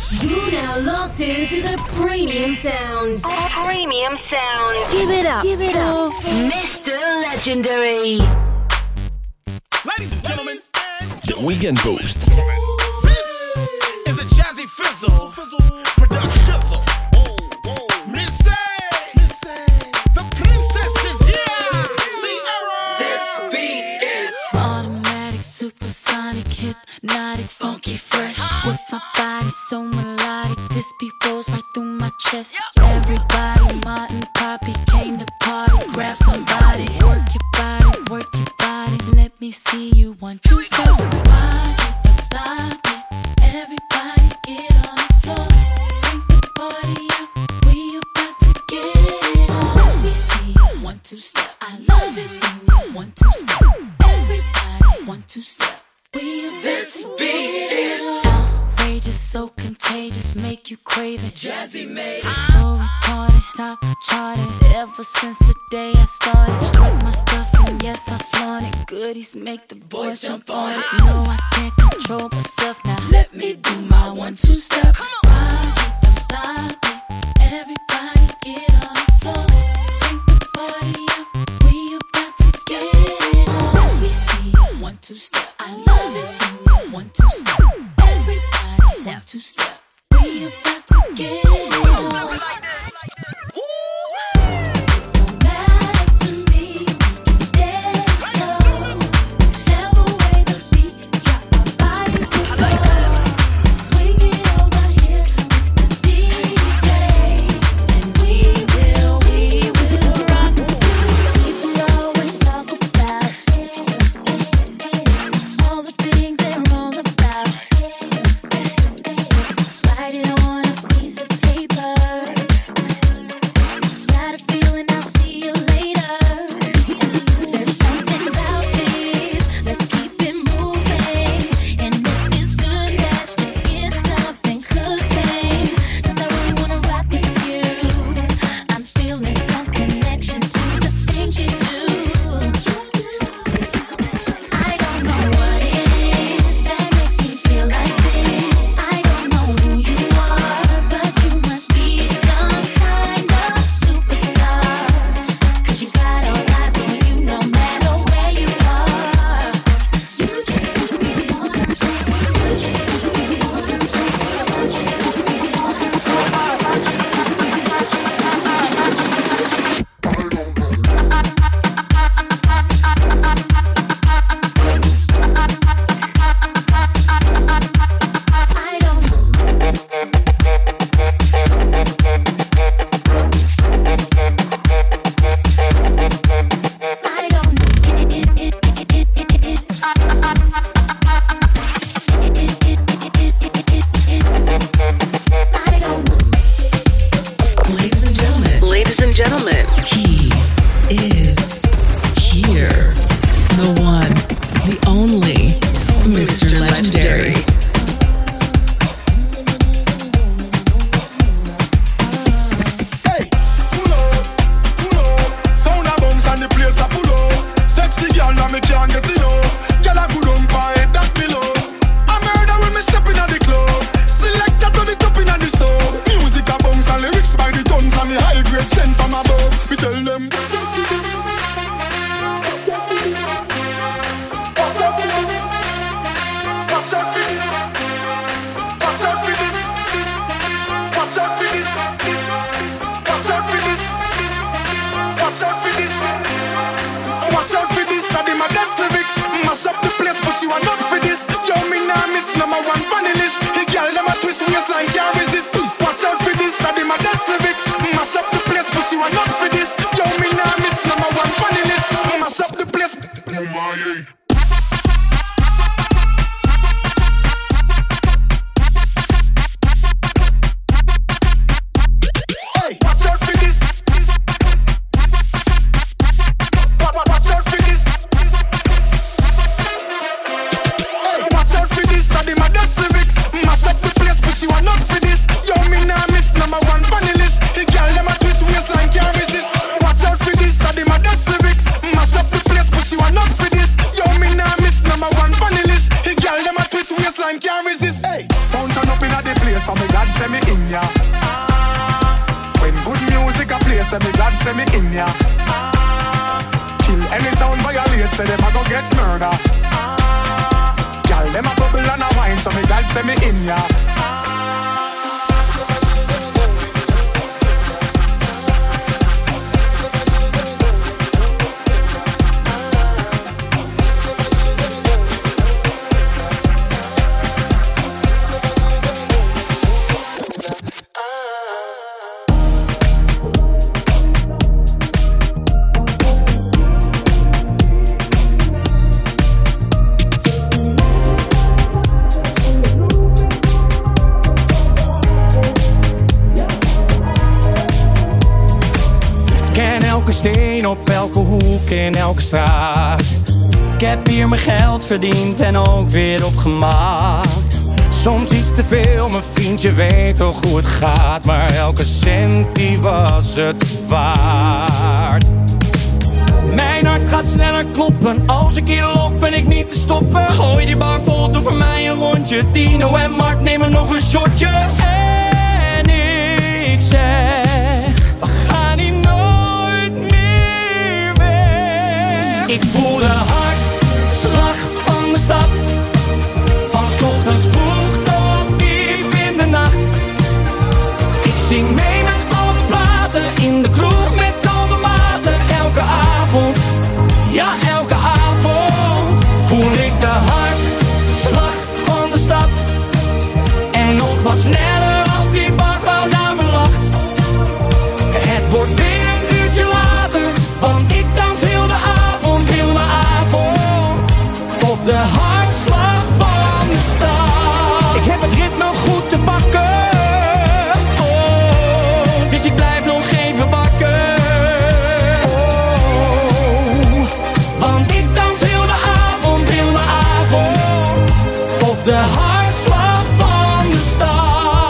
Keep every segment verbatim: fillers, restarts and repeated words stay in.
You're now locked into the premium sounds. Premium sound. Give it up. Give it up. Mister Legendary. Ladies and gentlemen, The Weekend Boost. this is a Jazzy Fizzle production. Missy, the princess is here. Sierra. This beat is automatic, supersonic, hypnotic, funky, fresh. With my body so melodic, this beat rolls right through my chest. Everybody, Martin, Poppy came to party. Grab somebody, work your body, work your body. Let me see you one, two, step. Rock it, don't stop it. Everybody get on the floor. Bring the party up, we about to get it on. Let me see you one, two, step. I love it when you one, two, step. Everybody, one, two, step. We about This to beat get is it on. Outrageous, so contagious, make you crave it. Jazzy made it. So retarded, top charted. Ever since the day I started, strike my stuff and yes I flaunt it. Goodies make the boys jump on it. No, I can't control myself now. Let me do my one two step. Rock it, don't stop it. Everybody get on the floor. Bring the party up, we about to get it on. Let me see you one two step. I love it when you one two step. Everybody one two step. We about to get it on. Back to me, dance slow. Whichever way the beat drop, our bodies go slow. So swing it over here, Mister D J, and we will, we will rock. People always talk about all the things they're wrong about. Write it on a piece of paper. Got a feeling I'll see you later. There's something about this. Let's keep it moving. And if it's good, let's just get something cooking. 'Cause I really wanna rock with you. I'm feeling some connection to the things you do. I don't know what it is that makes you feel like this. I don't know who you are. so me God send me in ya. When good music a play, say me God send me in ya. Kill any sound violate, say them a go get murder. Girl, them a bubble and a wine, so me God send me in ya. Op elke hoek in elke straat. Ik heb hier mijn geld verdiend en ook weer opgemaakt. Soms iets te veel, mijn vriendje weet toch hoe het gaat. Maar elke cent die was het waard. Mijn hart gaat sneller kloppen. Als ik hier loop ben ik niet te stoppen. Gooi die bar vol, doe voor mij een rondje. Tino en Mark nemen nog een shotje. En ik zeg, we gaan hier nooit meer weg. Ik voel de hartslag van de stad. Van 's ochtends vroeg tot diep in de nacht. Ik zing mee met alle platen. In de kroeg met al mijn maten. Elke avond, ja elke avond voel ik de hartslag van de stad. En nog wat sneller als die barvrouw naar me lacht. Het wordt weer een uurtje later, want ik dans heel de avond, heel de avond op de hartslag van de stad. Ik heb het ritme goed te pakken, oh, dus ik blijf nog even wakker. Oh, want ik dans heel de avond, heel de avond op de hartslag van de stad.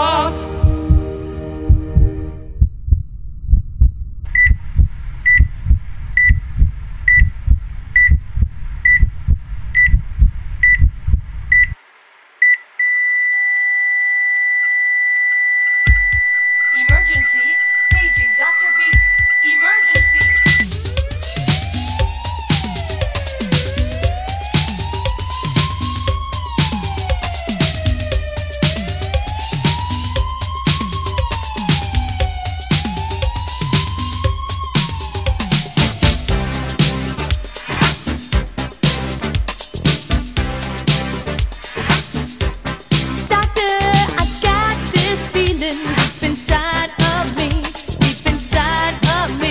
Emergency, paging doctor Beat. Emergency. Doctor, I got this feeling deep inside of me, deep inside of me.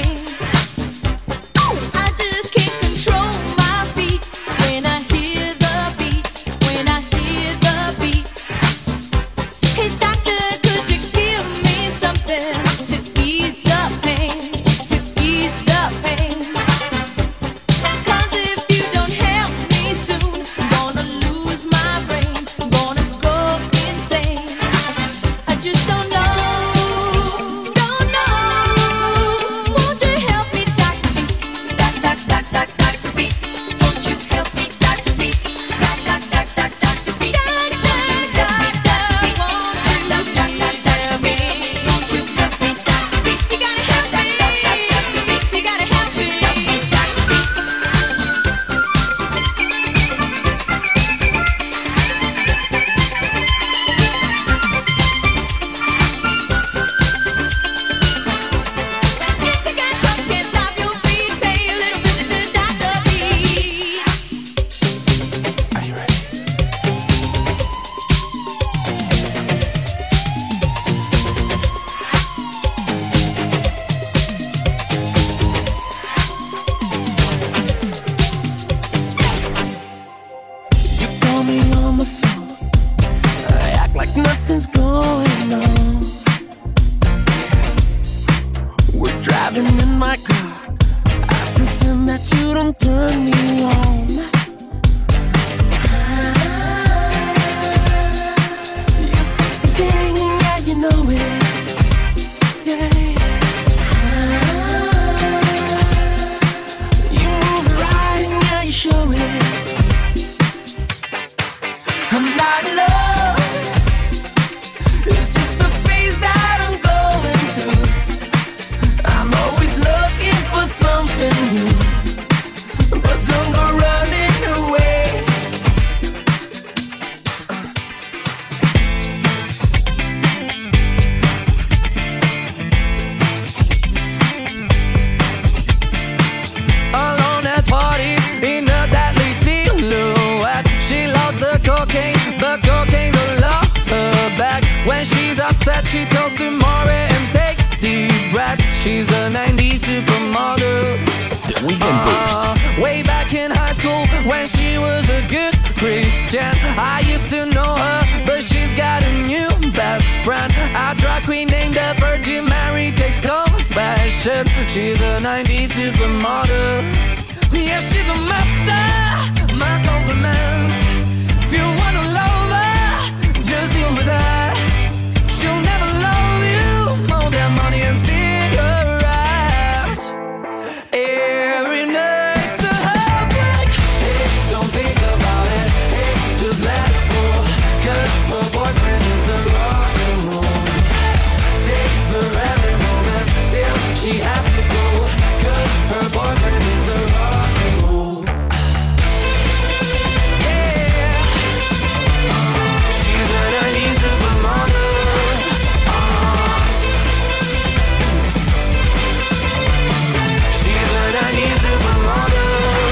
I just can't control my feet when I hear the beat, when I hear the beat. Hey doctor, could you give me something to ease the pain, to ease the pain? 'Cause if you don't help me soon, I'm gonna lose my brain, I'm gonna go insane. I just don't know, don't know. Won't you help me, Doctor Beat? Doc, doc, doc, doc, Doctor Beat. Won't you help me, Doctor Beat? Doc, doc, doc, doc, Doctor Beat. Won't you help me, Doctor Beat? Doc, doc, doc, doc, Doctor Beat. Won't you help me, Doctor Beat? You gotta help me, you gotta help me, Doctor Beat. If you got troubles, can't stop your feet, pay a little visit to Doctor Beat. Are you ready? You call me on the phone, I act like nothing's going on. We're driving in my car, I pretend that you don't turn me on. You sexy thing, yeah you know it. Yeah. You move right, yeah you show it. I'm not in love, it's just When she's upset, she talks to Maury and takes deep breaths. She's a nineties supermodel. The Weekend Boost. Uh, way back in high school, when she was a good Christian, I used to know her, but she's got a new best friend. A drag queen named the Virgin Mary takes confessions. She's a nineties supermodel. Yeah, she's a master. My compliments. If you wanna love her, just deal with that. She'll never love you more than money and cigarettes. Every night's a heartbreak. Hey, don't think about it. Hey, just let it go. Cause her boyfriend is the rock and roll. Savor every moment till she has to go. Cause her boyfriend is the rock and roll. Yeah. She's a nineties supermodel. She's a nineties supermodel.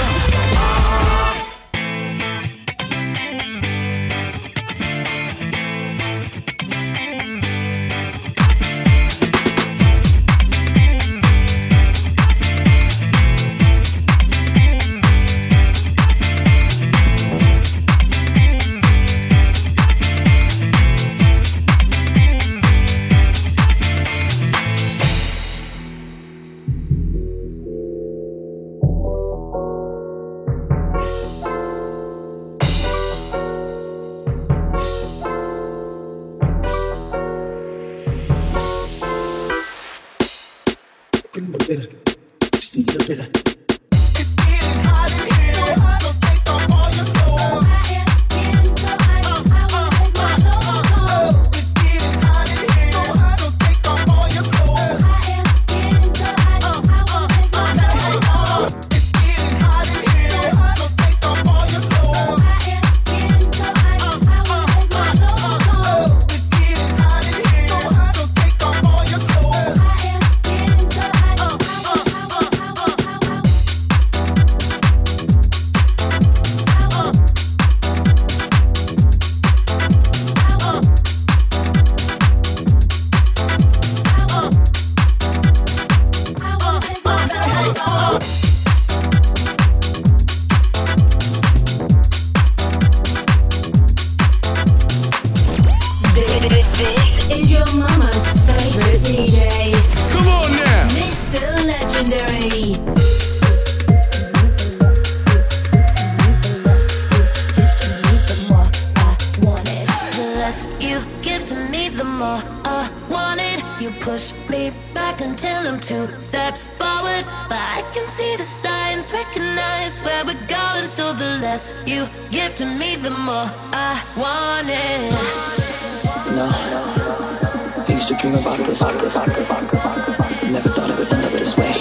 Just a little bit of you give to me, the more I want it. No, I used to dream about this. Never thought it would end up this way.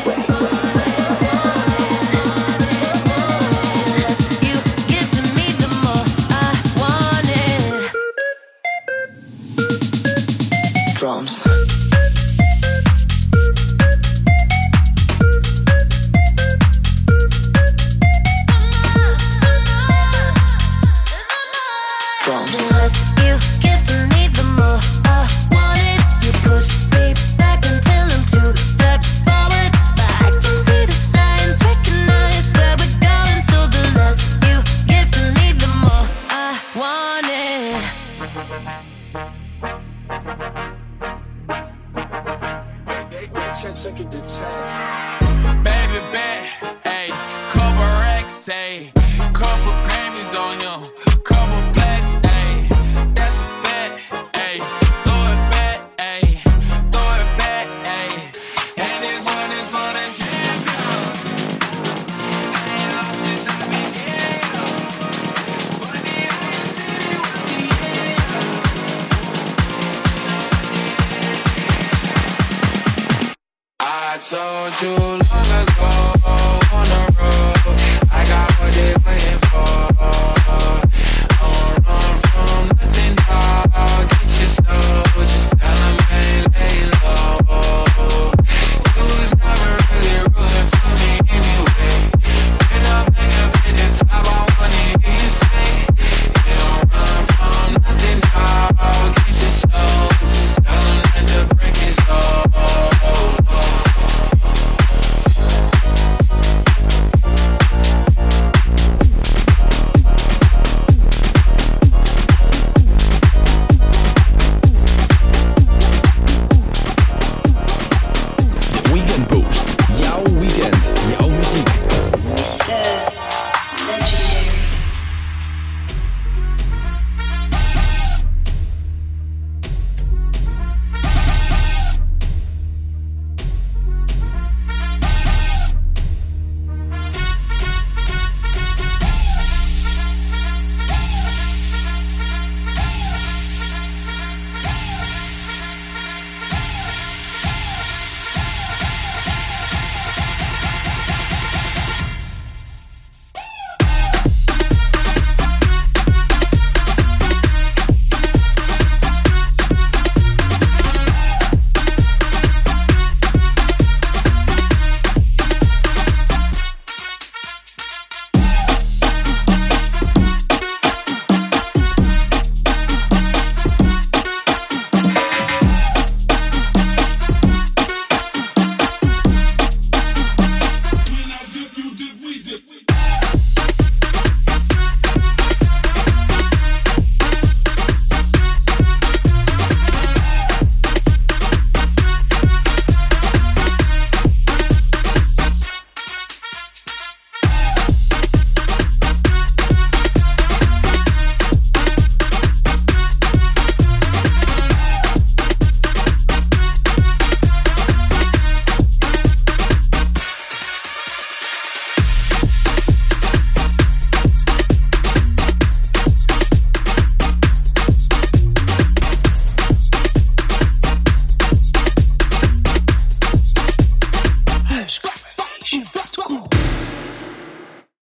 The less you give to me, the more I want it. Drums. Baby bet, ayy, couple racks, ayy, couple Grammys on him, couple blacks, ayy, that's a fact, ayy, throw it back, ayy, throw it back, ayy, and this one is for the champion. I ain't lost since I began. Funny how you said it was the end. I told you long ago.